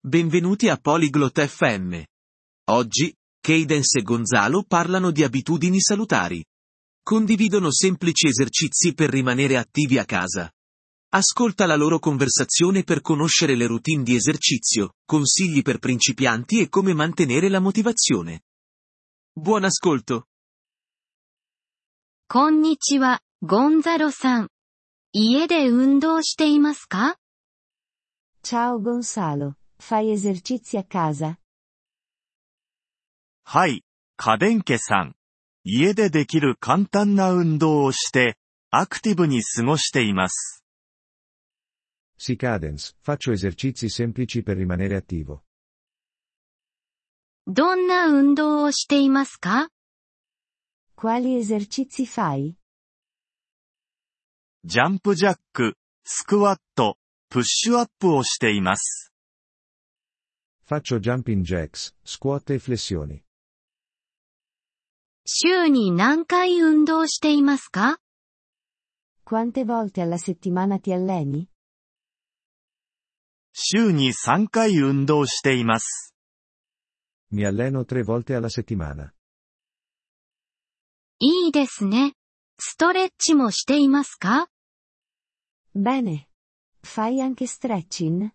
Benvenuti a Polyglot FM. Oggi, Cadence e Gonzalo parlano di abitudini salutari. Condividono semplici esercizi per rimanere attivi a casa. Ascolta la loro conversazione per conoscere le routine di esercizio, consigli per principianti e come mantenere la motivazione. Buon ascolto! こんにちは、ゴンザロさん。家で運動していますか？ Ciao Gonzalo, fai esercizi a casa? はい、カデンケさん。家でできる簡単な運動をして、アクティブに過ごしています。 Sì Cadence, faccio esercizi semplici per rimanere attivo. どんな運動をしていますか？ Quali esercizi fai? ジャンプジャック、スクワット、プッシュアップをしています。 Faccio jumping jacks, squat e flessioni. 週に何回運動していますか？ Quante volte alla settimana ti alleni? 週に3回運動しています。 Mi alleno 3 volte alla settimana. いいですね。ストレッチもしていますか？ Bene. Fai anche stretching?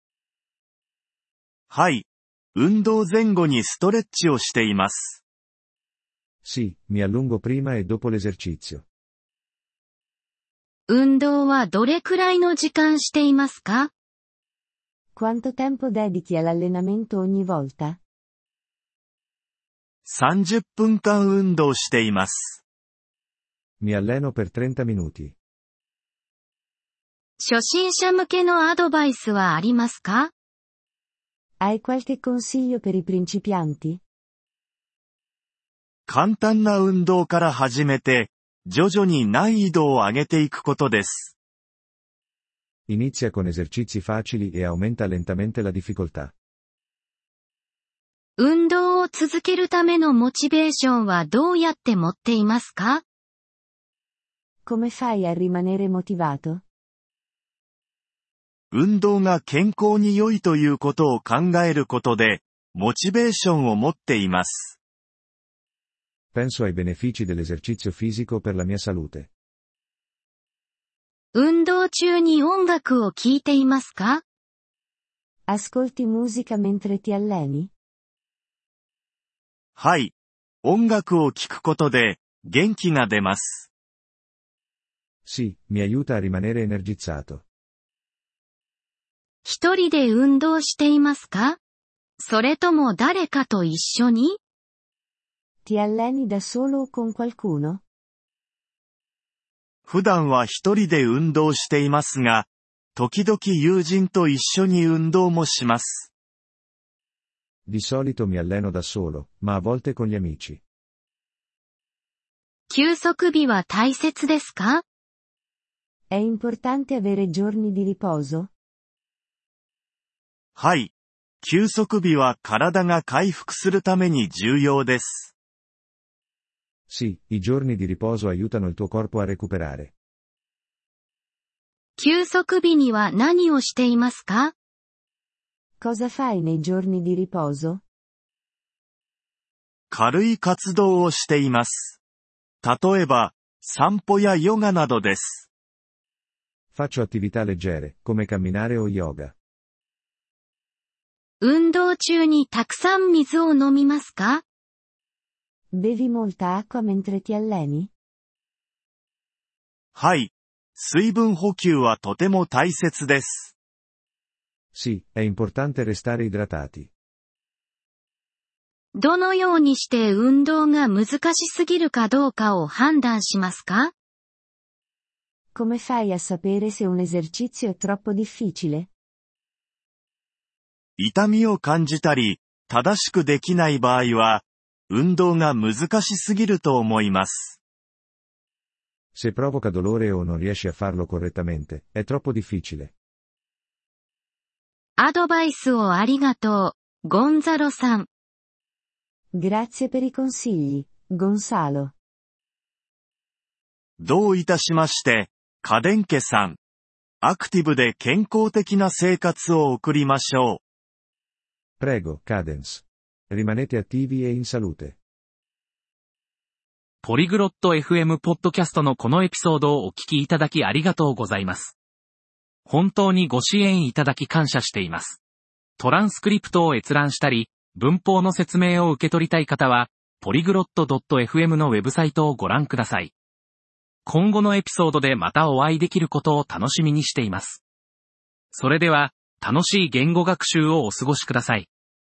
はい。運動前後にストレッチをしています。 Sì, mi allungo prima e dopo l'esercizio. 運動はどれくらいの時間していますか？ Quanto tempo dedichi all'allenamento ogni volta? 30分間運動しています。 Mi alleno per 30 minuti. 初心者向けのアドバイスはありますか？ Hai qualche consiglio per i principianti? 簡単な運動から始めて、徐々に難易度を上げていくことです。 Inizia con esercizi facili e aumenta lentamente la difficoltà. 運動を続けるためのモチベーションはどうやって持っていますか？ Come fai a rimanere motivato? 運動が健康に良いということを考えることで、モチベーションを持っています。 Penso ai benefici dell'esercizio fisico per la mia salute. 運動中に音楽を聴いていますか？ Ascolti musica mentre ti alleni? はい。音楽を聴くことで、元気が出ます。 Sì, mi aiuta a rimanere energizzato. 一人で運動していますか？それとも誰かと一緒に？ Ti alleni da solo o con qualcuno? 普段は一人で運動していますが、時々友人と一緒に運動もします。 Di solito mi alleno da solo, ma a volte con gli amici. 休息日は大切ですか？ È importante avere giorni di riposo? はい。休息日は体が回復するために重要です。 Sì, i giorni di riposo aiutano il tuo corpo a recuperare. 休息日には何をしていますか？ Cosa fai nei giorni di riposo? 軽い活動をしています。例えば、散歩やヨガなどです。 Faccio attività leggere, come camminare o yoga. 運動中にたくさん水を飲みますか？ Bevi molta acqua mentre ti alleni? はい。水分補給はとても大切です。 Sì, è importante restare idratati. どのようにして運動が難しすぎるかどうかを判断しますか？ Come fai a sapere se un esercizio è troppo difficile? 痛みを感じたり、正しくできない場合は、運動が難しすぎると思います。 Se provoca dolore o non riesci a farlo correttamente, è troppo difficile. アドバイスをありがとう、ゴンザロさん。 Grazie per i consigli, Gonzalo. どういたしまして、カデンケさん。アクティブで健康的な生活を送りましょう。 Prego, Cadence. Rimanete attivi e in salute. ポリグロット FM ポッドキャストのこのエピソードをお聞きいただきありがとうございます。本当にご支援いただき感謝しています。トランスクリプトを閲覧したり、文法の説明を受け取りたい方は、polyglot.fm のウェブサイトをご覧ください。今後のエピソードでまたお会いできることを楽しみにしています。それでは、楽しい言語学習をお過ごしください。